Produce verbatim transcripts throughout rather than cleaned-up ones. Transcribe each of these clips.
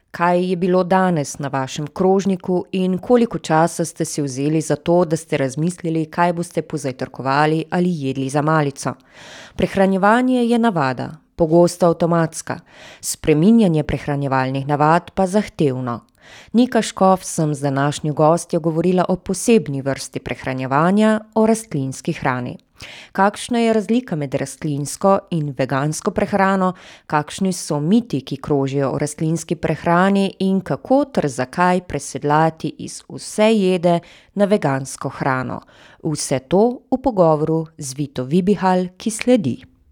Kaj je bilo danes na vašem krožniku in koliko časa ste si vzeli za to, da ste razmislili, kaj boste pozajtrkovali ali jedli za malico? Prehranjevanje je navada, pogosto avtomatska, spreminjanje prehranjevalnih navad pa zahtevno. Nika Škof sem z današnjo gostjo govorila o posebni vrsti prehranjevanja, o rastlinski hrani. Kakšna je razlika med rastlinsko in vegansko prehrano, kakšni so miti, ki krožijo o rastlinski prehrani in kako ter zakaj presedlati iz vse jede na vegansko hrano. Vse to v pogovoru z Vito Vibihal, ki sledi.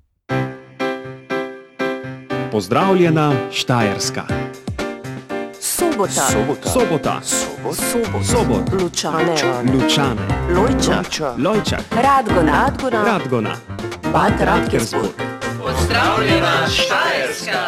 Pozdravljena Štajerska. Sobota. Sobota. Sobota. Sobot. Sobot. Lučane. Lučane. Lojčak. Lojčak. Radgona. Radgona. Radgona. Bad Radkersburg. Pozdravljena Štajerska.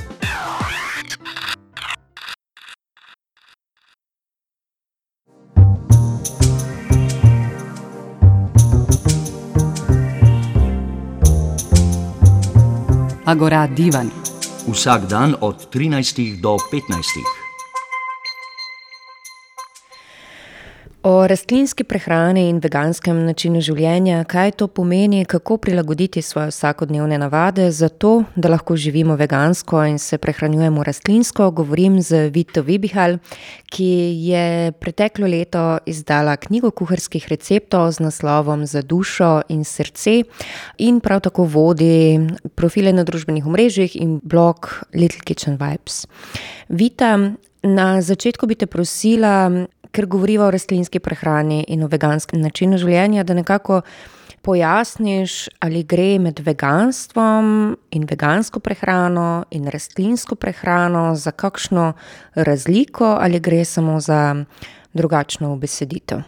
Agora Divan. Vsak dan od trinajstih do petnajstih. O rastlinski prehrani in veganskem načinu življenja, kaj to pomeni, kako prilagoditi svoje vsakodnevne navade za to, da lahko živimo vegansko in se prehranjujemo rastlinsko, govorim z Vito Vibihal, ki je preteklo leto izdala knjigo kuharskih receptov z naslovom Za dušo in srce in prav tako vodi profile na družbenih omrežjih in blog Little Kitchen Vibes. Vita, na začetku bi te prosila, ker govoriva o rastlinski prehrani in o veganskem načinu življenja, da nekako pojasniš, ali gre med veganstvom in vegansko prehrano in rastlinsko prehrano za kakšno razliko ali gre samo za drugačno ubeseditev.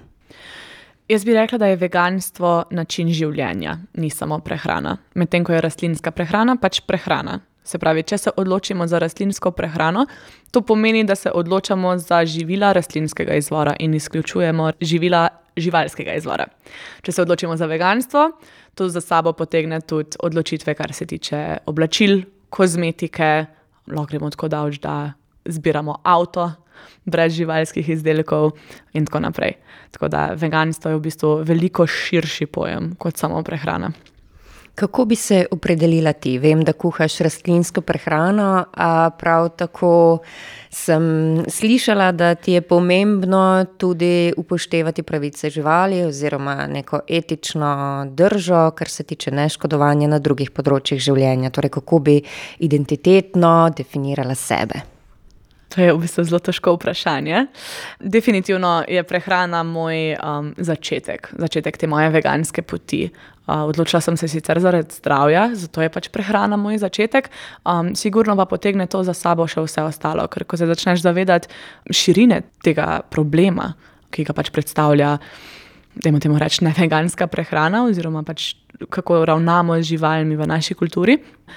Jaz bi rekla, da je veganstvo način življenja, ni samo prehrana. Medtem ko je rastlinska prehrana pač prehrana. Se pravi, če se odločimo za rastlinsko prehrano, to pomeni, da se odločamo za živila rastlinskega izvora in izključujemo živila živalskega izvora. Če se odločimo za veganstvo, to za sabo potegne tudi odločitve, kar se tiče oblačil, kozmetike, lahko gremo tako daleč, da zbiramo avto brez živalskih izdelkov in tako naprej. Tako da veganstvo je v bistvu veliko širši pojem kot samo prehrana. Kako bi se opredelila ti? Vem, da kuhaš rastlinsko prehrano, a prav tako sem slišala, da ti je pomembno tudi upoštevati pravice živali oziroma neko etično držo, kar se tiče neškodovanja na drugih področjih življenja. Torej, kako bi identitetno definirala sebe? To je v bistvu zelo težko vprašanje. Definitivno je prehrana moj um, začetek, začetek te moje veganske poti. Uh, odločila sem se sicer zaradi zdravja, zato je pač prehrana moj začetek. Um, sigurno pa potegne to za sabo še vse ostalo, ker ko se začneš zavedati širine tega problema, ki ga pač predstavlja, dajmo temu reči, neveganska prehrana oziroma pač kako ravnamo z živalmi v naši kulturi,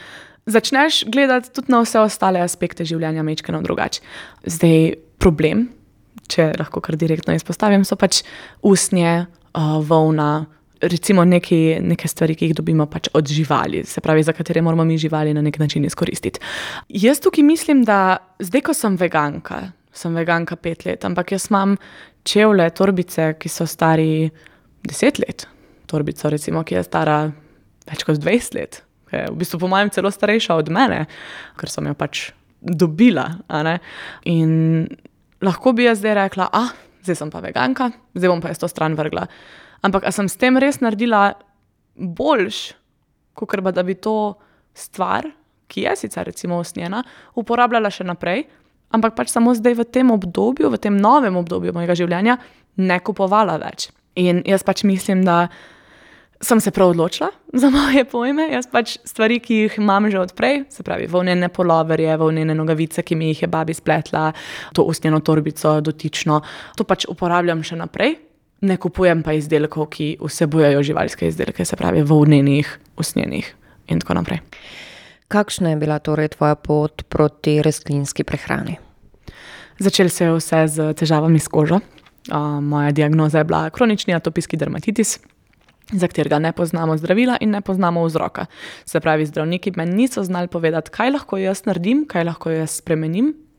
začneš gledati tudi na vse ostale aspekte življenja majčkeno drugače. Zdaj, problem, če lahko kar direktno izpostavim, so pač usnje, uh, volna, recimo neki, neke stvari, ki jih dobimo pač od živali, se pravi, za katere moramo mi živali na nek način izkoristiti. Jaz tukaj mislim, da zdaj, ko sem veganka, sem veganka pet let, ampak jaz imam čevlje, torbice, ki so stari deset let. Torbico, recimo, ki je stara več kot dvajset let. V bistvu po mojem celo starejša od mene, ker sem jo pač dobila. A ne? In lahko bi jaz zdaj rekla, ah, zdaj sem pa veganka, zdaj bom pa jaz to stran vrgla. Ampak a sem s tem res naredila boljš, kakor pa da bi to stvar, ki je sicer recimo usnjena, uporabljala še naprej, ampak pač samo zdaj v tem obdobju, v tem novem obdobju mojega življenja ne kupovala več. In jaz pač mislim, da sem se prav odločila za moje pojme. Jaz pač stvari, ki jih imam že odprej, se pravi volnene poloverje, volnene nogavice, ki mi jih je babi spletla, to usnjeno torbico dotično, to pač uporabljam še naprej. Ne kupujem pa izdelkov, ki vsebujejo živalske izdelke, se pravi volnenih, usnjenih in tako naprej. Kakšna je bila torej tvoja pot proti rastlinski prehrani? Začelo se je vse z težavami s kožo. Uh, moja diagnoza je bila kronični atopijski dermatitis, za katerega ne poznamo zdravila in ne poznamo vzroka. Se pravi, zdravniki meni niso znali povedati, kaj lahko jaz naredim, kaj lahko jaz spremenim,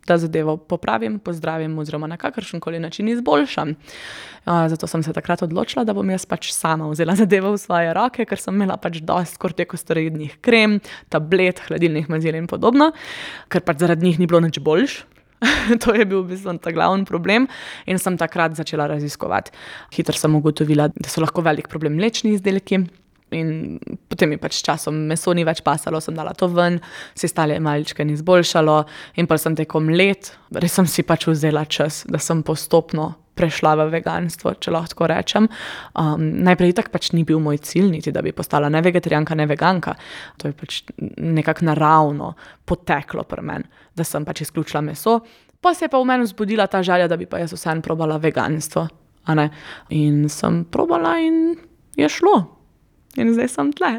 da zadevo popravim, pozdravim oziroma na kakršenkoli način izboljšam. Uh, zato sem se takrat odločila, da bom jaz pač sama vzela zadevo v svoje roke, ker sem imela pač dosti kortikosteroidnih krem, tablet, hladilnih mazil in podobno, ker pač zaradi njih ni bilo nič boljš. To je bil v bistvu ta glavni problem in sem takrat začela raziskovati. Hitro sem ugotovila, da so lahko velik problem mlečni izdelki in potem mi pač s časom meso ni več pasalo, sem dala to ven, se stale maličke ni izboljšalo in pa sem tekom let, res sem si pač vzela čas, da sem postopno prešla v veganstvo, če lahko tako rečem. Um, najprej tak pač ni bil moj cilj, niti da bi postala ne vegetarijanka, ne veganka. To je pač nekako naravno poteklo pri meni, da sem pač izključila meso. Pa se je pa v meni vzbudila ta želja, da bi pa jaz vseeno probala veganstvo. A ne? In sem probala in je šlo. In zdaj sem tle.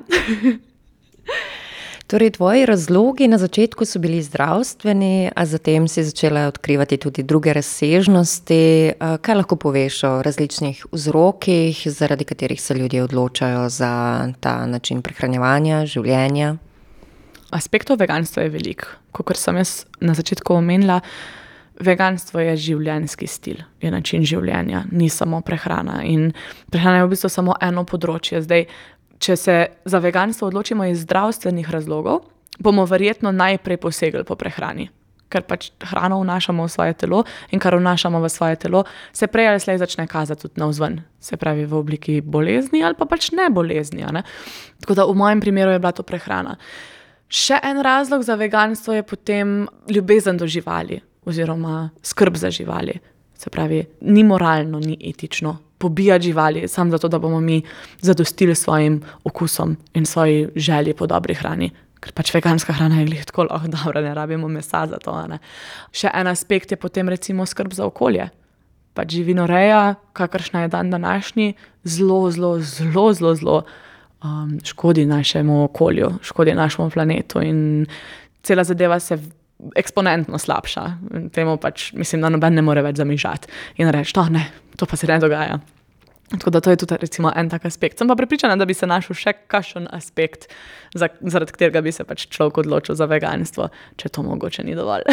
Torej, tvoji razlogi na začetku so bili zdravstveni, a zatem si začela odkrivati tudi druge razsežnosti. Kaj lahko poveš o različnih vzrokih, zaradi katerih se ljudje odločajo za ta način prehranjevanja, življenja? Aspektov veganstva je veliko. Kakor sem jaz na začetku omenila, veganstvo je življenjski stil, je način življenja, ni samo prehrana. In prehrana je v bistvu samo eno področje. Zdaj, če se za veganstvo odločimo iz zdravstvenih razlogov, bomo verjetno najprej posegli po prehrani. Ker pač hrano vnašamo v svoje telo in kar vnašamo v svoje telo, se prej ali slej začne kazati tudi navzven. Se pravi v obliki bolezni ali pa pač ne bolezni. Ne? Tako da v mojem primeru je bila to prehrana. Še en razlog za veganstvo je potem ljubezen do živali oziroma skrb za živali. Se pravi, ni moralno, ni etično pobijati živali, samo zato, da bomo mi zadostili svojim okusom in svoji želji po dobri hrani. Ker pač veganska hrana je glih tako lahko dobra, ne rabimo mesa za to. Ne? Še en aspekt je potem recimo skrb za okolje. Pač živinoreja, kakršna je dan današnji, zelo, zelo, zelo, zelo, zelo um, škodi našemu okolju, škodi našemu planetu in cela zadeva se eksponentno slabša. Temu pač, mislim, da noben ne more več zamižati in reči, to ne, to pa se ne dogaja. Tako da to je tudi recimo en tak aspekt. Sem pa prepričana, da bi se našel še kakšen aspekt, za, zaradi katerega bi se pač človek odločil za veganstvo, če to mogoče ni dovolj.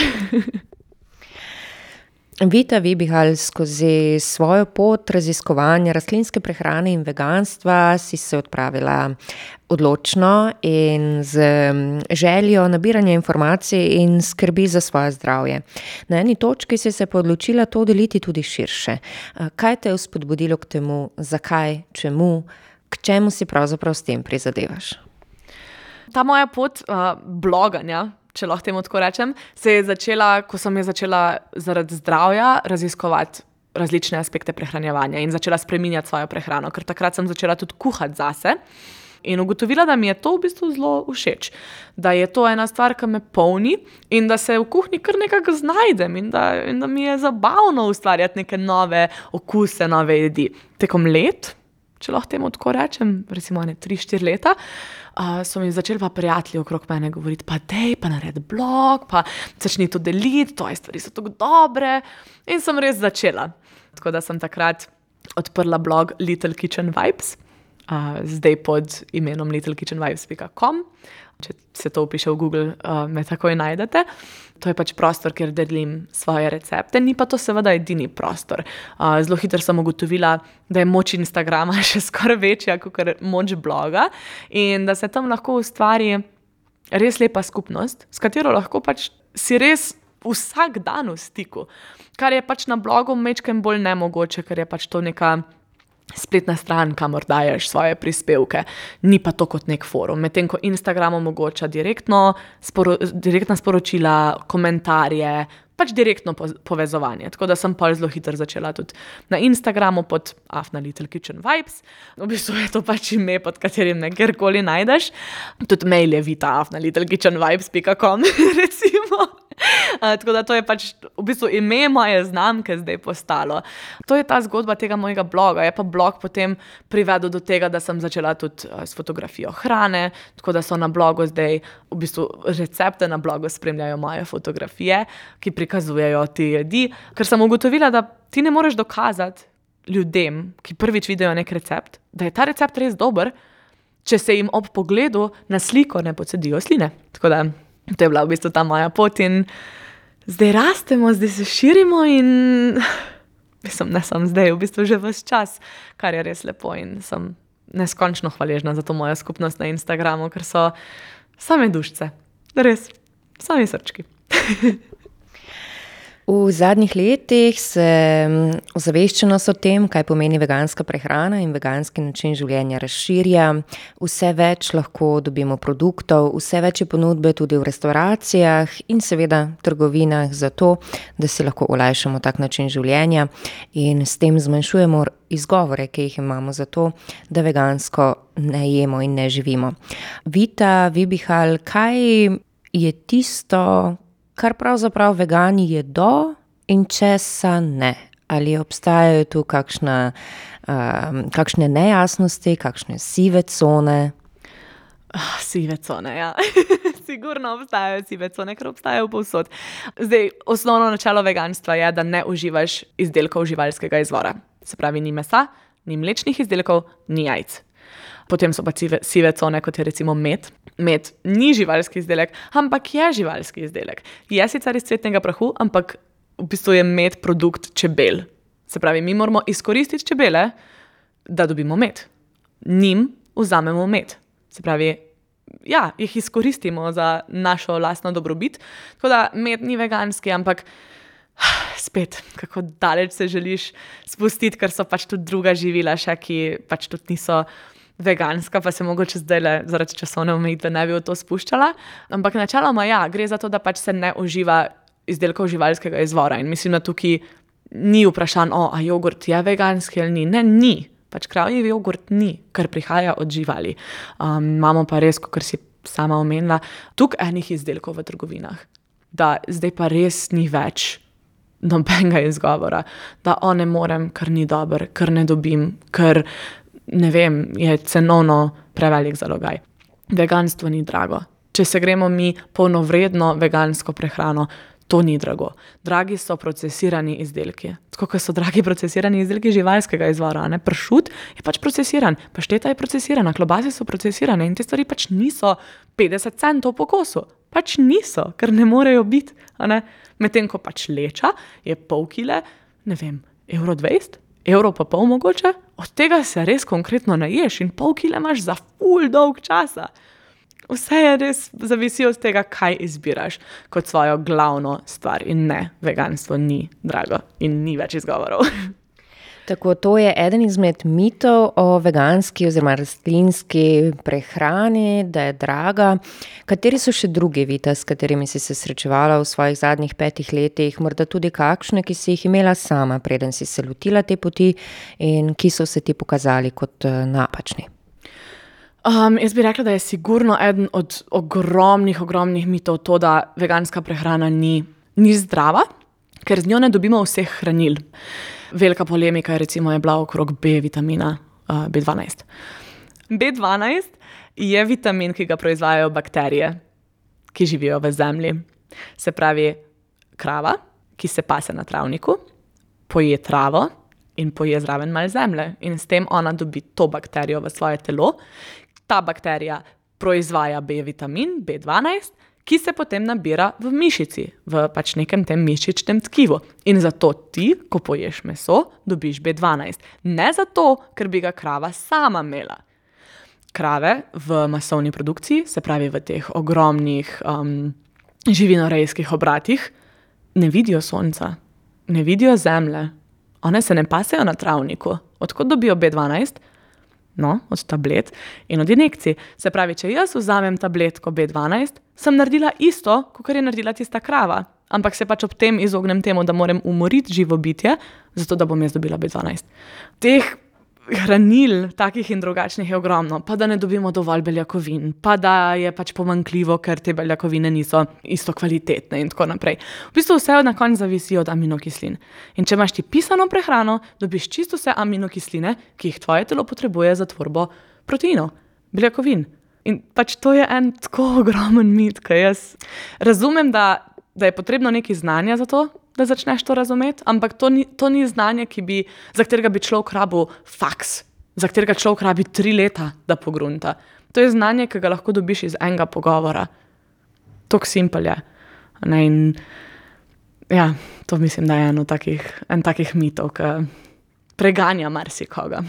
Vita Vibihal, skozi svojo pot raziskovanja rastlinske prehrane in veganstva si se odpravila odločno in z željo nabiranja informacij in skrbi za svoje zdravje. Na eni točki si se pa odločila to deliti tudi širše. Kaj te je spodbudilo k temu, zakaj, čemu, k čemu si pravzaprav s tem prizadevaš? Ta moja pot uh, bloganja, če lahko temu tako rečem, se je začela, ko sem je začela zaradi zdravja raziskovati različne aspekte prehranjevanja in začela spreminjati svojo prehrano, ker takrat sem začela tudi kuhati zase in ugotovila, da mi je to v bistvu zelo všeč, da je to ena stvar, ki me polni in da se v kuhinji kar nekako znajdem in da, in da mi je zabavno ustvarjati neke nove okuse, nove jedi. Tekom let, če lahko temu tako rečem, recimo ne tri, štiri leta, Uh, so mi začeli pa prijatelji okrog mene govoriti, pa dej, pa naredi blog, pa začni to deliti, tvoje stvari so tako dobre. In sem res začela. Tako da sem takrat odprla blog Little Kitchen Vibes, uh, zdaj pod imenom little kitchen vibes pika com. Če se to vpiše v Google, uh, me takoj najdete. To je pač prostor, kjer delim svoje recepte, ni pa to seveda edini prostor. Uh, zelo hitro sem ugotovila, da je moč Instagrama še skoraj večja kot moč bloga in da se tam lahko ustvari res lepa skupnost, s katero lahko pač si res vsak dan v stiku, kar je pač na blogu mečkem bolj nemogoče, ker je pač to neka spletna stran, kamor daješ svoje prispevke, ni pa to kot nek forum. Medtem ko Instagram omogoča direktno, sporo, direktna sporočila, komentarje, pač direktno povezovanje. Tako da sem pa zelo hitro začela tudi na Instagramu pod Afna Little Kitchen Vibes. V bistvu je to pač ime, pod katerim me kjerkoli najdeš. Tudi mail je vita afna little kitchen vibes pika com, recimo. Uh, tako da to je pač v bistvu ime moje znamke zdaj postalo. To je ta zgodba tega mojega bloga. Je pa blog potem privedel do tega, da sem začela tudi uh, s fotografijo hrane, tako da so na blogu zdaj v bistvu recepte na blogu spremljajo moje fotografije, ki prikazujejo te jedi, ker sem ugotovila, da ti ne moreš dokazati ljudem, ki prvič vidijo nek recept, da je ta recept res dober, če se jim ob pogledu na sliko ne pocedijo sline. Tako da to je bila v bistvu ta moja pot in Zdaj rastemo, zdaj se širimo in mislim, ne sem zdaj, v bistvu že ves čas, kar je res lepo in sem neskončno hvaležna za to mojo skupnost na Instagramu, ker so same dušce, res, sami srčki. V zadnjih letih se ozaveščenost o tem, kaj pomeni veganska prehrana in veganski način življenja razširja. Vse več lahko dobimo produktov, vse več je ponudbe tudi v restauracijah in seveda trgovinah za to, da si lahko olajšamo tak način življenja in s tem zmanjšujemo izgovore, ki jih imamo za to, da vegansko ne jemo in ne živimo. Vita Vibihal, kaj je tisto, kar pravzaprav vegani jedo in česa ne? Ali obstajajo tu kakšna, uh, kakšne nejasnosti, kakšne sive cone? Oh, sive cone, ja. Sigurno obstajajo sive cone, ker obstajajo povsod. Zdaj, osnovno načelo veganstva je, da ne uživaš izdelkov živalskega izvora. Se pravi, ni mesa, ni mlečnih izdelkov, ni jajc. Potem so pa sive, sive cone, kot je recimo med. Med ni živalski izdelek, ampak je živalski izdelek. Je sicer iz cvetnega prahu, ampak v bistvu je med produkt čebel. Se pravi, mi moramo izkoristiti čebele, da dobimo med. Njim vzamemo med. Se pravi, ja, jih izkoristimo za našo lastno dobrobit. Tako da med ni veganski, ampak spet, kako daleč se želiš spustiti, ker so pač tudi druga živila še, ki pač tudi niso veganska, pa se mogoče zdaj le zaradi časovne omejitve ne bi v to spuščala. Ampak načeloma ja, gre za to, da pač se ne uživa izdelkov živalskega izvora. In mislim, da tukaj ni vprašan, o, a jogurt je veganski ali ni. Ne, ni. Pač kravji jogurt ni, ker prihaja od živali. Um, imamo pa res, kot si sama omenila, tukaj enih izdelkov v trgovinah. Da zdaj pa res ni več nobenega izgovora, da o ne morem, ker ni dober, ker ne dobim, ker ne vem, je cenovno prevelik zalogaj. Veganstvo ni drago. Če se gremo mi polnovredno vegansko prehrano, to ni drago. Dragi so procesirani izdelki. Tako, kot so dragi procesirani izdelki živalskega izvora. Ne? Pršut je pač procesiran, pašteta je procesirana, klobase so procesirane in te stvari pač niso petdeset centov po kosu. Pač niso, ker ne morejo biti. Medtem ko pač leča je pol kile, ne vem, evro dvajset, evro pa pol mogoče, od tega se res konkretno naješ in pol kile imaš za ful dolg časa. Vse je res zavisi od tega, kaj izbiraš kot svojo glavno stvar in ne, veganstvo ni drago in ni več izgovorov. Tako, to je eden izmed mitov o veganski oziroma rastlinski prehrani, da je draga. Kateri so še drugi, Vita, s katerimi si se srečevala v svojih zadnjih petih letih, morda tudi kakšne, ki si jih imela sama, preden si se lotila te poti in ki so se ti pokazali kot napačni? Um, jaz bi rekla, da je sigurno eden od ogromnih, ogromnih mitov to, da veganska prehrana ni, ni zdrava, ker z njo ne dobimo vseh hranil. Velika polemika recimo je bila okrog B vitamina, uh, B dvanajst. B dvanajst je vitamin, ki ga proizvajajo bakterije, ki živijo v zemlji. Se pravi, krava, ki se pase na travniku, poje travo in poje zraven malo zemlje. In s tem ona dobi to bakterijo v svoje telo. Ta bakterija proizvaja B vitamin, B dvanajst, ki se potem nabira v mišici, v pač nekem tem mišičnem tkivu. In zato ti, ko poješ meso, dobiš B dvanajst. Ne zato, ker bi ga krava sama imela. Krave v masovni produkciji, se pravi v teh ogromnih um, živinorejskih obratih, ne vidijo sonca, ne vidijo zemlje. One se ne pasejo na travniku. Odkot dobijo B dvanajst? No, od tablet in od injekcij. Se pravi, če jaz vzamem tabletko B dvanajst, sem naredila isto, kot je naredila tista krava. Ampak se pač ob tem izognem temu, da moram umoriti živo bitje, zato da bom jaz dobila B dvanajst. Teh hranil, takih in drugačnih je ogromno, pa da ne dobimo dovolj beljakovin, pa da je pač pomanjkljivo, ker te beljakovine niso isto kvalitetne in tako naprej. V bistvu vse na koncu zavisi od aminokislin. In če imaš ti pisano prehrano, dobiš čisto vse aminokisline, ki jih tvoje telo potrebuje za tvorbo proteinov, beljakovin. In pač to je en tako ogromen mit, ki jaz razumem, da, da je potrebno nekaj znanja za to, da začneš to razumeti, ampak to ni, to ni znanje, ki bi, za katerega bi človek rabil faks, za katerega človek rabi tri leta, da pogrunta. To je znanje, ki ga lahko dobiš iz enega pogovora. Tok simpel je. Ne, in ja, to mislim, da je eno takih, en takih mitov, ki preganja marsikoga.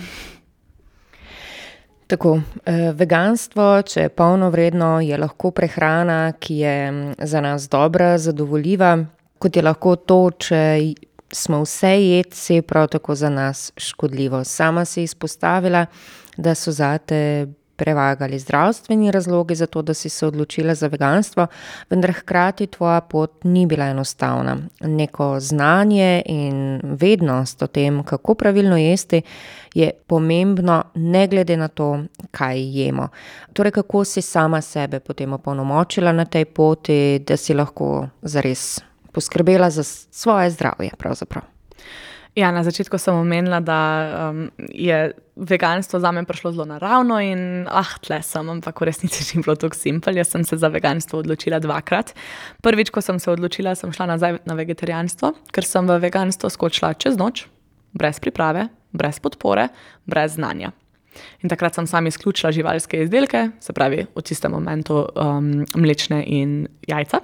Tako, eh, veganstvo, če je polnovredno, je lahko prehrana, ki je za nas dobra, zadovoljiva, kot je lahko to, če smo vse jedci, prav tako za nas škodljivo. Sama si izpostavila, da so zate prevagali zdravstveni razlogi za to, da si se odločila za veganstvo, vendar hkrati tvoja pot ni bila enostavna. Neko znanje in vednost o tem, kako pravilno jesti, je pomembno ne glede na to, kaj jemo. Torej, kako si sama sebe potem opolnomočila na tej poti, da si lahko zares poskrbela za svoje zdravje pravzaprav? Ja, na začetku sem omenila, da um, je veganstvo zame prišlo zelo naravno in ah, tle sem, ampak v resnici ni bilo tako simpel. Jaz sem se za veganstvo odločila dvakrat. Prvič, ko sem se odločila, sem šla nazaj na vegetarijanstvo, ker sem v veganstvo skočila čez noč, brez priprave, brez podpore, brez znanja. In takrat sem sama izključila živalske izdelke, se pravi v tistem momentu um, mlečne in jajca.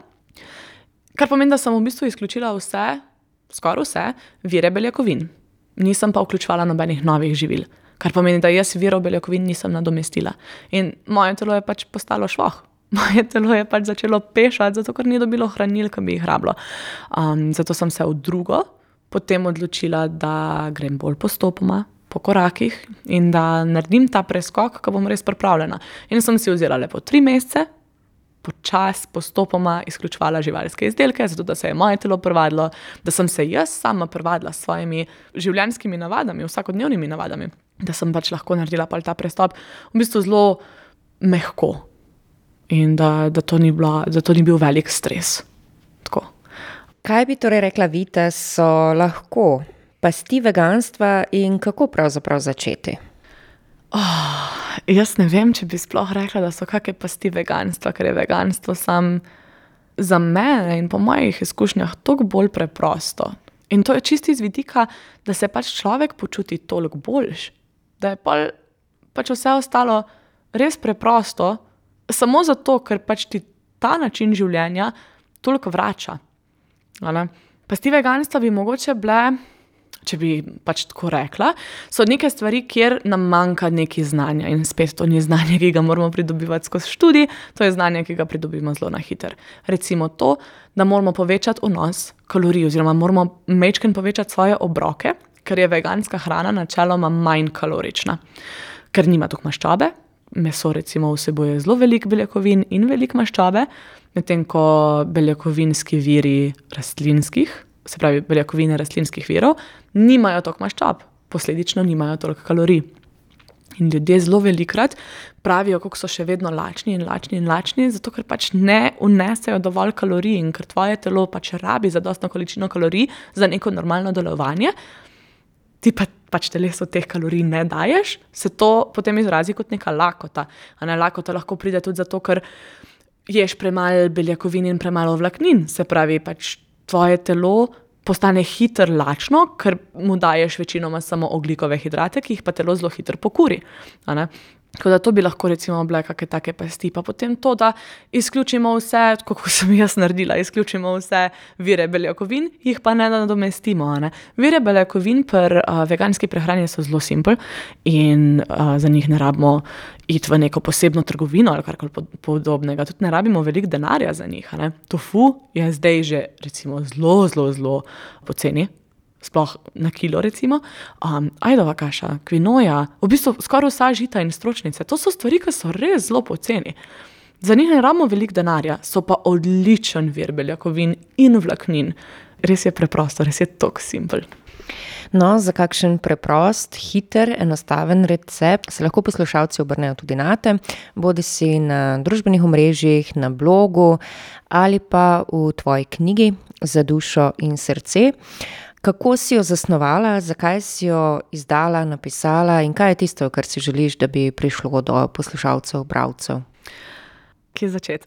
Kar pomeni, da sem v bistvu izključila vse, skoraj vse, vire beljakovin. Nisem pa vključevala nobenih novih živil, kar pomeni, da jaz virov beljakovin nisem nadomestila. In moje telo je pač postalo švoh. Moje telo je pač začelo pešati, zato ker ni dobilo hranil, ki bi jih rabilo. Um, zato sem se v drugo potem odločila, da grem bolj postopoma, po korakih in da naredim ta preskok, ko bom res pripravljena. In sem si vzela lepo tri mesece, počas, postopoma izključevala živalske izdelke, zato da se je moje telo privadilo, da sem se jaz sama privadila s svojimi življenjskimi navadami, vsakodnevnimi navadami, da sem pač lahko naredila pa ta prestop v bistvu zelo mehko in da, da, to ni bila, da to ni bil velik stres. Tako. Kaj bi torej rekla Vita, so lahko pasti veganstva in kako pravzaprav začeti? Oh, jaz ne vem, če bi sploh rekla, da so kakšne pasti veganstva, ker je veganstvo sam za mene in po mojih izkušnjah toliko bolj preprosto. In to je čisto iz vidika, da se pač človek počuti toliko boljš, da je pol, pač vse ostalo res preprosto, samo zato, ker pač ti ta način življenja toliko vrača. Ali? Pasti veganstva bi mogoče bile, če bi pač tako rekla, so neke stvari, kjer nam manjka neki znanja in spet to ni znanje, ki ga moramo pridobivati skozi študij, to je znanje, ki ga pridobimo zelo na hiter. Recimo to, da moramo povečati vnos kalorij oziroma moramo majčkeno povečati svoje obroke, ker je veganska hrana načeloma manj kalorična, ker nima toliko maščobe. Meso recimo vsebuje zelo veliko beljakovin in veliko maščobe, medtem ko beljakovinski viri rastlinskih, se pravi beljakovine rastlinskih virov, nimajo toliko maščob, posledično nimajo toliko kalorij. In ljudje zelo velikrat pravijo, kako so še vedno lačni in lačni in lačni, zato ker pač ne vnesejo dovolj kalorij in ker tvoje telo pač rabi zadostno količino kalorij za neko normalno delovanje, ti pa pač telesu teh kalorij ne daješ, se to potem izrazi kot neka lakota. A ne, lakota lahko pride tudi zato, ker ješ premalo beljakovin in premalo vlaknin, se pravi pač tvoje telo postane hitro lačno, ker mu daješ večinoma samo ogljikove hidrate, ki jih pa telo zelo hitro pokuri. A ne? Tako da to bi lahko recimo bile kakšne take pasti, pa potem to, da izključimo vse, kako sem jaz naredila, izključimo vse vire beljakovin, jih pa ne nadomestimo. Ne? Vire beljakovin pri uh, veganski prehrani so zelo simpel in uh, za njih ne rabimo iti v neko posebno trgovino ali karkoli podobnega. Tudi ne rabimo veliko denarja za njih. Ne? Tofu je zdaj že recimo zelo, zelo, zelo poceni. Sploh na kilo recimo, um, ajdova kaša, kvinoja, v bistvu skoraj vsa žita in stročnice, to so stvari, ki so res zelo poceni. Za njih ne rabimo veliko denarja, so pa odličen vir beljakovin in vlaknin. Res je preprosto, res je tako simpel. No, za kakšen preprost, hiter, enostaven recept se lahko poslušalci obrnejo tudi nate, bodi si na družbenih omrežjih, na blogu ali pa v tvoji knjigi Za dušo in srce. Kako si jo zasnovala, zakaj si jo izdala, napisala in kaj je tisto, kar si želiš, da bi prišlo do poslušalcev, bralcev? Kje začeti?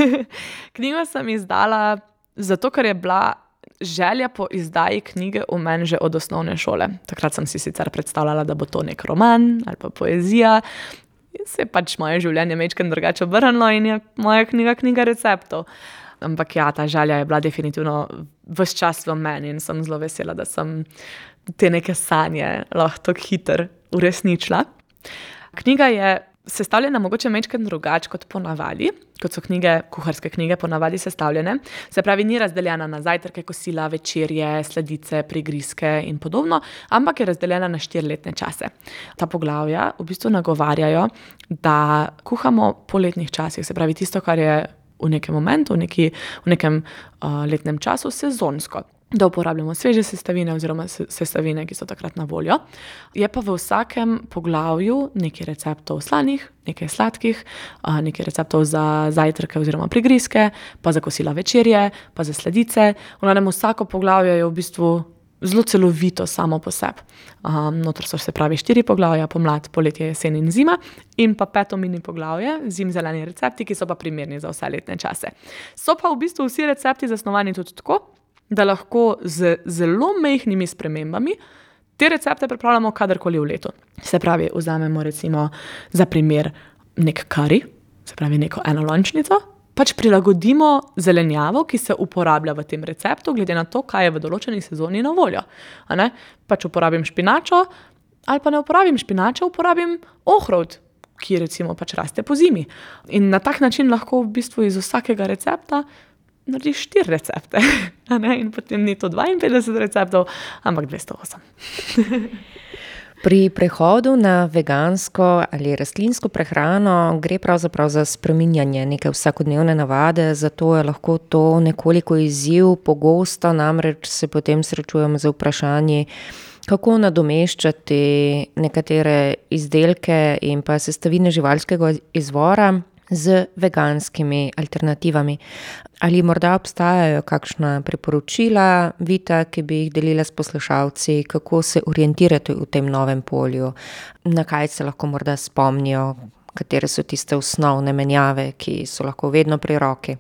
Knjigo sem izdala zato, ker je bila želja po izdaji knjige v meni že od osnovne šole. Takrat sem si sicer predstavljala, da bo to nek roman ali pa poezija. In se je pač moje življenje majčkeno drugače obrnilo in je moja knjiga knjiga receptov. Ampak ja, ta želja je bila definitivno ves čas v meni in sem zelo vesela, da sem te neke sanje lahko tako hitro uresničila. Knjiga je sestavljena mogoče majčkeno drugače kot ponavadi, kot so knjige, kuharske knjige ponavadi sestavljene. Se pravi, ni razdeljena na zajtrke, kosila, večerje, sladice, prigrizke in podobno, ampak je razdeljena na štiri letne čase. Ta poglavja v bistvu nagovarjajo, da kuhamo po letnih časih, se pravi tisto, kar je v nekem momentu, v, neki, v nekem uh, letnem času sezonsko. Da uporabljamo sveže sestavine oziroma sestavine, ki so takrat na voljo. Je pa v vsakem poglavju nekaj receptov slanih, nekaj sladkih, nekaj receptov za zajtrke oziroma prigrizke, pa za kosila večerje, pa za sladice. V glavnem vsako poglavje je v bistvu zelo celovito samo po sebi. Um, notor so se pravi štiri poglavja, pomlad, poletje, jesen in zima, in pa peto mini poglavje, zim zeleni recepti, ki so pa primerni za vse letne čase. So pa v bistvu vsi recepti zasnovani tudi tako, da lahko z zelo majhnimi spremembami te recepte pripravljamo kadarkoli v letu. Se pravi, vzamemo recimo za primer nek kari, se pravi neko enolončnico, pač prilagodimo zelenjavo, ki se uporablja v tem receptu, glede na to, kaj je v določeni sezoni na voljo. A ne? Pač uporabim špinačo, ali pa ne uporabim špinačo, uporabim ohrovt, ki recimo pač raste po zimi. In na tak način lahko v bistvu iz vsakega recepta narediš štiri recepte, a ne? In potem ni to dvainpetdeset receptov, ampak dvesto osem. Pri prehodu na vegansko ali rastlinsko prehrano gre pravzaprav za spreminjanje neke vsakodnevne navade, zato je lahko to nekoliko izziv, pogosto namreč se potem srečujemo z vprašanji, kako nadomeščati nekatere izdelke in pa sestavine živalskega izvora z veganskimi alternativami. Ali morda obstajajo kakšna priporočila, Vita, ki bi jih delila s poslušalci, kako se orientirati v tem novem polju, na kaj se lahko morda spomnijo, katere so tiste osnovne menjave, ki so lahko vedno pri roki?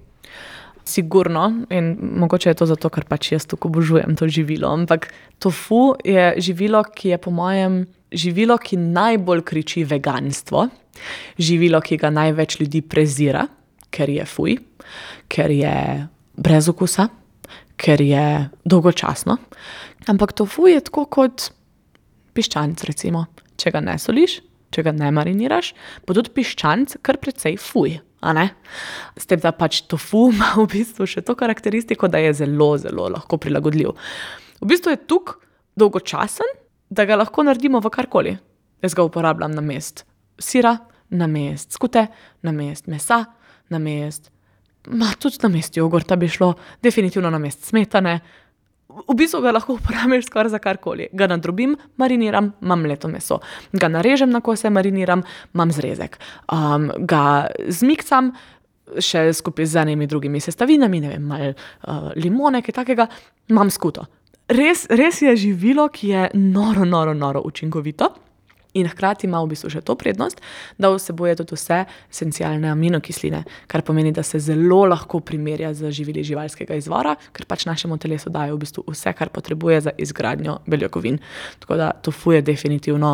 Sigurno, in mogoče je to zato, ker pač jaz tako obožujem to živilo, ampak tofu je živilo, ki je po mojem živilo, ki najbolj kriči veganstvo, živilo, ki ga največ ljudi prezira, ker je fuj, ker je brez okusa, ker je dolgočasno. Ampak tofu je tako kot piščanc, recimo. Če ga ne soliš, če ga ne mariniraš, bo tudi piščanc kar precej fuj, a ne? S tem, da pač tofu ima v bistvu še to karakteristiko, da je zelo, zelo lahko prilagodljiv. V bistvu je tukaj dolgočasen, da ga lahko naredimo v karkoli. Jaz ga uporabljam na mest sira, na mest skute, na mest mesa, na mest, ma tudi na mest jogurta bi šlo, definitivno na mest smetane. V bistvu ga lahko uporabiš skoraj za karkoli. Ga nadrobim, mariniram, imam mleto meso. Ga narežem na kose, mariniram, imam zrezek. Um, ga zmiksam, še skupaj z enimi drugimi sestavinami, ne vem, malo uh, limone, kaj takega, imam skuto. Res, res je živilo, ki je noro, noro, noro učinkovito. In hkrati ima v bistvu še to prednost, da vsebuje tudi vse esencialne aminokisline, kar pomeni, da se zelo lahko primerja z živili živalskega izvora, ker pač našemu telesu dajo v bistvu vse, kar potrebuje za izgradnjo beljakovin. Tako da tofu je definitivno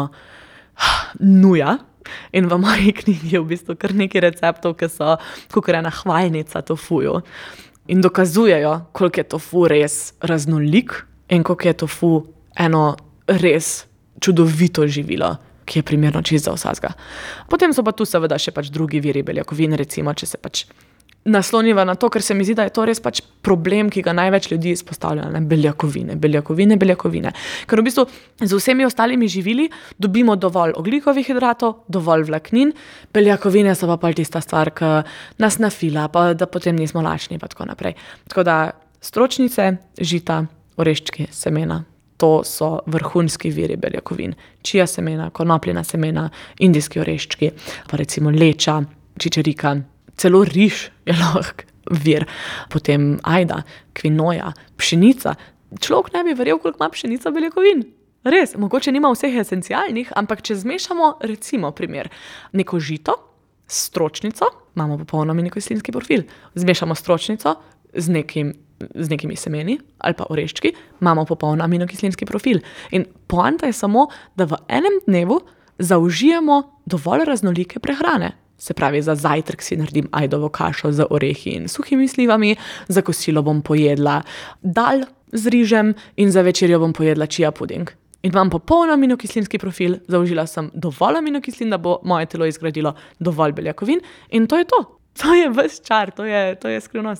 nuja. In v moji knjigi je v bistvu kar nekaj receptov, ki so kakor ena hvalnica tofuju. In dokazujejo, koliko je tofu res raznolik in koliko je tofu eno res čudovito živilo, ki je primerno čisto za vsakega. Potem so pa tu seveda še pač drugi viri beljakovin, recimo, če se pač nasloniva na to, ker se mi zdi, da je to res pač problem, ki ga največ ljudi izpostavlja, ne, beljakovine, beljakovine, beljakovine. Ker v bistvu z vsemi ostalimi živili dobimo dovolj ogljikovih hidratov, dovolj vlaknin, beljakovine so pa pol tista stvar, ki nas nafila, pa da potem nismo lačni, pa tako naprej. Tako da stročnice, žita, oreščki, semena, to so vrhunski viri beljakovin. Čija semena, konopljina semena, indijski oreščki, pa recimo leča, čičerika, celo riž je lahko vir. Potem ajda, kvinoja, pšenica. Človek ne bi verjel, koliko ima pšenica beljakovin. Res, mogoče nima vseh esencialnih, ampak če zmešamo, recimo primer, neko žito s stročnico, imamo popolno aminokislinski profil. Zmešamo stročnico z nekim z nekimi semeni ali pa oreščki, imamo popoln aminokislinski profil. In poanta je samo, da v enem dnevu zaužijemo dovolj raznolike prehrane. Se pravi, za zajtrk si naredim ajdovo kašo z orehi in suhimi slivami, za kosilo bom pojedla dal z rižem in za večerjo bom pojedla chia puding. In imam popoln aminokislinski profil, zaužila sem dovolj aminokislin, da bo moje telo izgradilo dovolj beljakovin in to je to. To je ves čar, to je, to je skrivnost.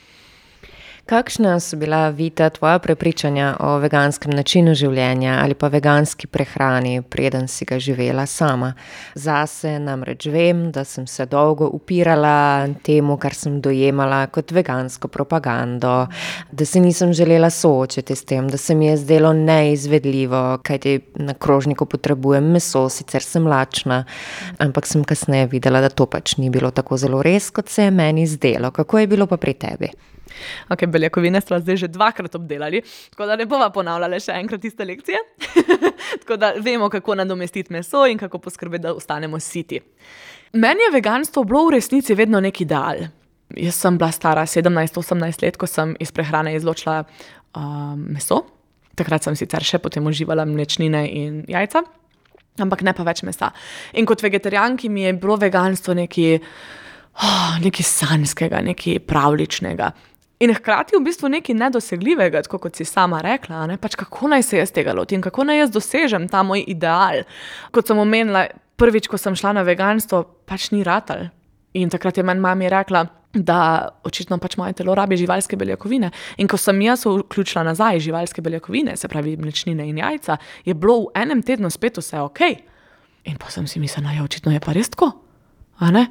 Kakšna so bila, Vita, tvoja prepričanja o veganskem načinu življenja ali pa veganski prehrani, preden si ga živela sama? Zase namreč vem, da sem se dolgo upirala temu, kar sem dojemala kot vegansko propagando, da se nisem želela soočiti s tem, da se mi je zdelo neizvedljivo, kajti na krožniku potrebujem meso, sicer sem lačna, ampak sem kasneje videla, da to pač ni bilo tako zelo res, kot se je meni zdelo. Kako je bilo pa pri tebi? Ok, beljakovine sva zdaj že dvakrat obdelali, tako da ne bova ponavljala še enkrat iste lekcije. Tako da vemo, kako nadomestiti meso in kako poskrbeti, da ostanemo siti. Meni je veganstvo bilo v resnici vedno nek ideal. Jaz sem bila stara sedemnajst osemnajst let, ko sem iz prehrane izločila uh, meso. Takrat sem sicer še potem uživala mlečnine in jajca, ampak ne pa več mesa. In kot vegetarijanki mi je bilo veganstvo nekaj, oh, nekaj sanjskega, nekaj pravličnega. In hkrati v bistvu nekaj nedosegljivega, tako kot si sama rekla, ne? Pač kako naj se jaz tega lotim, kako naj jaz dosežem ta moj ideal. Kot sem omenila, prvič, ko sem šla na veganstvo, pač ni ratal. In takrat je meni mami rekla, da očitno pač moje telo rabi živalske beljakovine. In ko sem jaz vključila nazaj živalske beljakovine, se pravi mlečnine in jajca, je bilo v enem tednu spet vse okej. In pa sem si mislila, ja, očitno je pa res tako. A ne?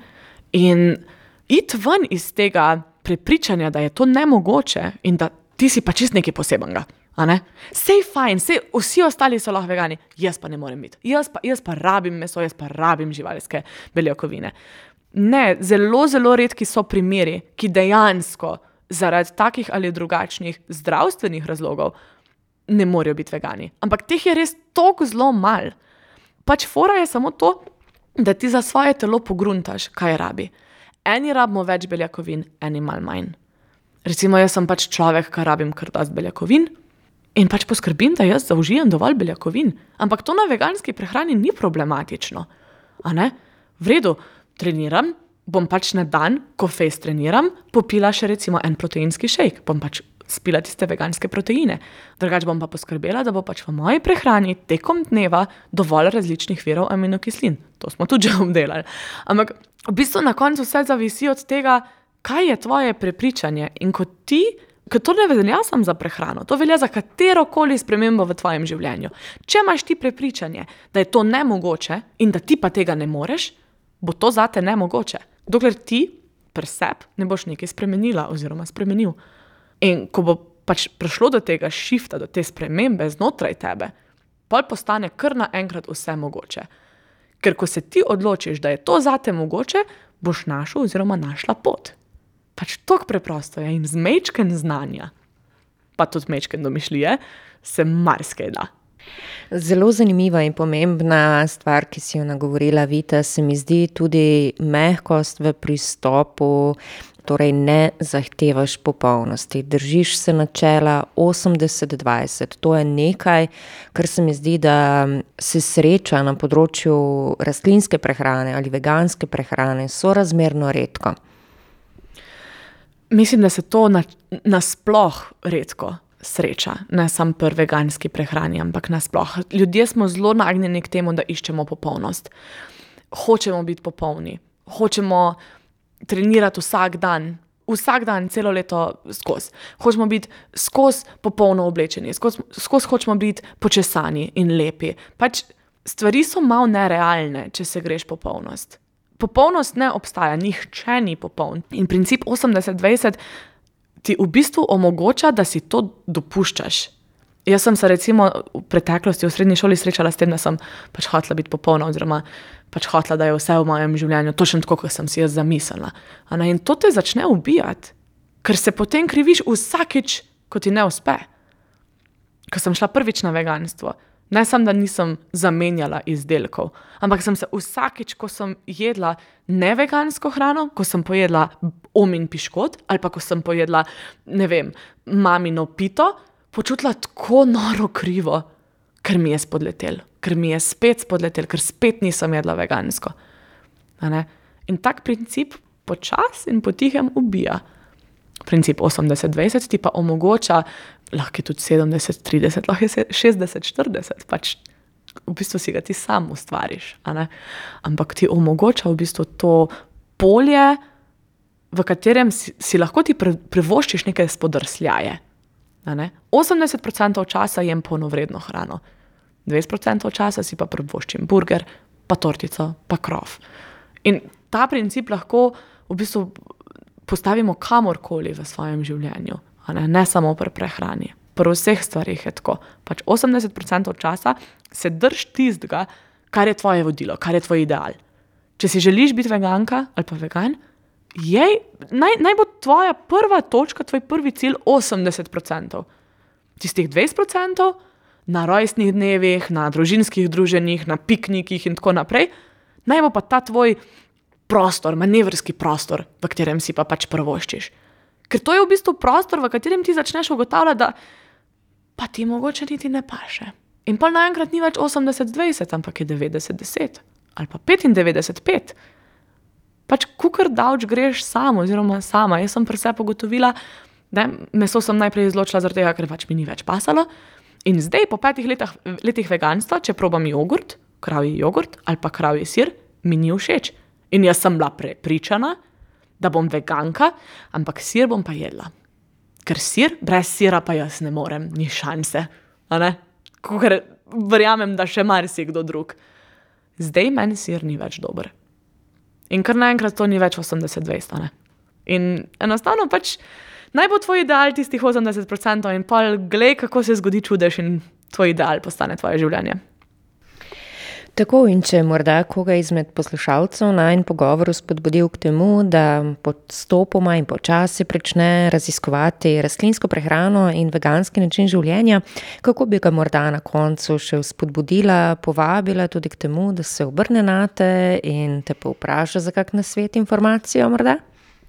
In iti ven iz tega prepričanja, da je to nemogoče in da ti si pa čist nekaj posebenega. A ne? Sej fajn, sej vsi ostali so lahko vegani, jaz pa ne morem biti. Jaz pa, jaz pa rabim meso, jaz pa rabim živalske beljakovine. Ne, zelo, zelo redki so primeri, ki dejansko zaradi takih ali drugačnih zdravstvenih razlogov ne morejo biti vegani. Ampak teh je res toliko zelo mal. Pač fora je samo to, da ti za svoje telo pogruntaš, kaj rabi. Eni rabimo več beljakovin, eni malo manj. Recimo, jaz sem pač človek, ki rabim kar dosti beljakovin in pač poskrbim, da jaz zaužijem dovolj beljakovin. Ampak to na veganski prehrani ni problematično. A ne? V redu, treniram, bom pač na dan, ko fejs treniram, popila še recimo en proteinski šejk, bom pač spila tiste veganske proteine. Drugač bom pa poskrbela, da bo pač v moji prehrani tekom dneva dovolj različnih virov aminokislin. To smo tudi že obdelali. Ampak v bistvu na koncu vse zavisi od tega, kaj je tvoje prepričanje. In ko ti, ker to ne velja samo za prehrano, to velja za katerokoli spremembo v tvojem življenju. Če imaš ti prepričanje, da je to nemogoče in da ti pa tega ne moreš, bo to zate nemogoče. Dokler ti pri sebi ne boš nekaj spremenila oziroma spremenil. In ko bo pač prišlo do tega šifta, do te spremembe znotraj tebe, pol postane kar naenkrat vse mogoče. Ker ko se ti odločiš, da je to zate mogoče, boš našel oziroma našla pot. Pač toliko preprosto je in z mečken znanja, pa tudi mečken domišljije, se marsikaj da. Zelo zanimiva in pomembna stvar, ki si jo nagovorila, Vita, se mi zdi tudi mehkost v pristopu, torej ne zahtevaš popolnosti. Držiš se načela osemdeset dvajset. To je nekaj, kar se mi zdi, da se sreča na področju rastlinske prehrane ali veganske prehrane sorazmerno redko. Mislim, da se to na, nasploh redko sreča, ne samo pri veganski prehrani, ampak nasploh. Ljudje smo zelo nagnjeni k temu, da iščemo popolnost. Hočemo biti popolni, hočemo trenirati vsak dan, vsak dan, celo leto skozi. Hočemo biti skozi popolno oblečeni, skozi, skozi hočemo biti počesani in lepi. Pač stvari so malo nerealne, če se greš popolnost. Popolnost ne obstaja, nihče ni popoln. In princip osemdeset dvajset ti v bistvu omogoča, da si to dopuščaš. Jaz sem se recimo v preteklosti v srednji šoli srečala s tem, da sem pač hotela biti popolna oziroma pač hotela, da je vse v mojem življenju točno tako, kot sem si jaz zamislila. In to te začne ubijati, ker se potem kriviš vsakič, ko ti ne uspe. Ko sem šla prvič na veganstvo, ne samo, da nisem zamenjala izdelkov, ampak sem se vsakič, ko sem jedla nevegansko hrano, ko sem pojedla omin piškot ali pa ko sem pojedla, ne vem, mamino pito, počutila tako noro krivo, ker mi je spodletel, ker mi je spet spodletel, ker spet nisem jedla vegansko. In tak princip počas in potihem ubija. Princip osemdeset dvajset ti pa omogoča, lahko je tudi sedemdeset trideset, lahko je šestdeset štirideset, pač v bistvu si ga ti sam ustvariš, a ne? Ampak ti omogoča v bistvu to polje, v katerem si, si lahko ti pre, privoščiš neke spodrsljaje. A ne? osemdeset procentov časa jem polnovredno hrano, dvajset procentov časa si pa privoščim burger, pa tortico, pa krof. In ta princip lahko v bistvu postavimo kamorkoli v svojem življenju, a ne, ne samo pri prehrani. Pri vseh stvarih je tako. Pač osemdeset procentov časa se drž tistega, kar je tvoje vodilo, kar je tvoj ideal. Če si želiš biti veganka ali pa vegan, jej, naj, naj bo tvoja prva točka, tvoj prvi cilj osemdeset procentov. Tistih dvajset procentov na rojstnih dnevih, na družinskih druženjih, na piknikih in tako naprej, naj bo pa ta tvoj prostor, manevrski prostor, v katerem si pa pač prvoščiš. Ker to je v bistvu prostor, v katerem ti začneš ugotavljati, da pa ti mogoče niti ne paše. In pa naenkrat ni več osemdeset dvajset, ampak je devetdeset deset ali pa petindevetdeset pet. Pač kukor davč greš sam oziroma sama. Jaz sem pri sebi ugotovila, da meso sem najprej izločila zaradi tega, ker pač mi ni več pasalo. In zdaj po petih letih, letih veganstva, če probam jogurt, kravji jogurt ali pa kravji sir, mi ni všeč. In jaz sem bila prepričana, da bom veganka, ampak sir bom pa jedla. Ker sir, brez sira pa jaz ne morem, ni šanse. A ne? Ker verjamem, da še marsikdo drug. Zdaj meni sir ni več dober. In kar naenkrat to ni več osemdeset dvajset, a ne? In enostavno pač naj bo tvoj ideal tistih osemdeset procentov in pol glej, kako se zgodi čudež in tvoj ideal postane tvoje življenje. Tako, in če morda koga izmed poslušalcev najin pogovoru spodbudil k temu, da postopoma in počasi prične raziskovati rastlinsko prehrano in veganski način življenja, kako bi ga morda na koncu še spodbudila, povabila tudi k temu, da se obrne nate in te povpraša za kak nasvet, informacijo morda?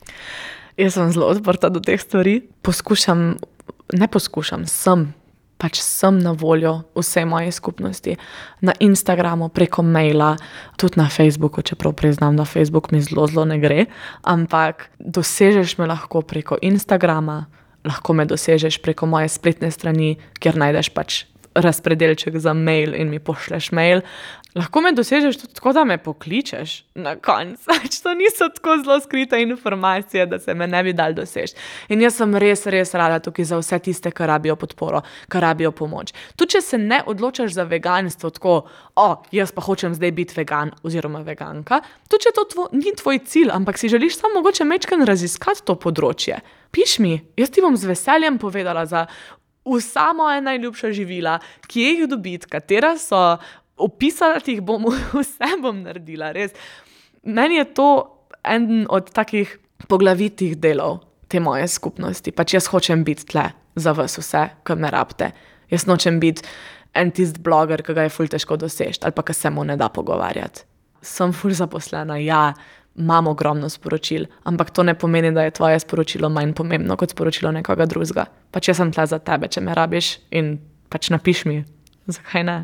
Jaz sem zelo odprta do teh stvari. Poskušam, ne poskušam, sem pač sem na voljo vse moje skupnosti. Na Instagramu, preko maila, tudi na Facebooku, čeprav priznam, da Facebook mi zelo, zelo ne gre, ampak dosežeš me lahko preko Instagrama, lahko me dosežeš preko moje spletne strani, kjer najdeš pač razpredelček za mail in mi pošleš mail. Lahko me dosežeš tudi tako, da me pokličeš na konc. To niso tako zelo skrite informacije, da se me ne bi dal doseči. In jaz sem res, res rada tukaj za vse tiste, ki rabijo podporo, ki rabijo pomoč. Tudi če se ne odločaš za veganstvo tako, o, jaz pa hočem zdaj biti vegan oziroma veganka, tudi če to tvo, ni tvoj cilj, ampak si želiš samo mogoče majčkeno raziskati to področje. Piš mi, jaz ti bom z veseljem povedala za vsa moja najljubša živila, kje jih dobiti, katera so, opisala ti jih bom, vse bom naredila, res. Meni je to eden od takih poglavitih delov te moje skupnosti. Pač jaz hočem biti tle za vas vse, ki me rabite. Jaz nočem biti en tist bloger, ki ga je ful težko doseči, ali pa ki se mu ne da pogovarjati. Sem ful zaposlena, ja, imam ogromno sporočil, ampak to ne pomeni, da je tvoje sporočilo manj pomembno kot sporočilo nekoga drugega. Pač jaz sem tle za tebe, če me rabiš in pač napiš mi, zakaj ne.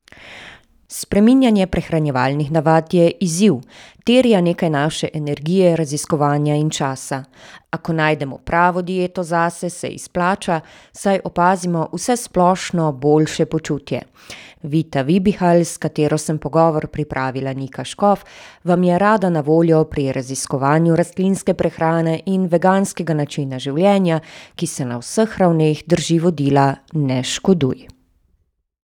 Spreminjanje prehranjevalnih navad je izziv, terja nekaj naše energije, raziskovanja in časa. Ako najdemo pravo dieto zase, se izplača, saj opazimo vse splošno boljše počutje. Vita Vibihal, s katero sem pogovor pripravila Nika Škof, vam je rada na voljo pri raziskovanju rastlinske prehrane in veganskega načina življenja, ki se na vseh ravneh drži vodila ne škoduj.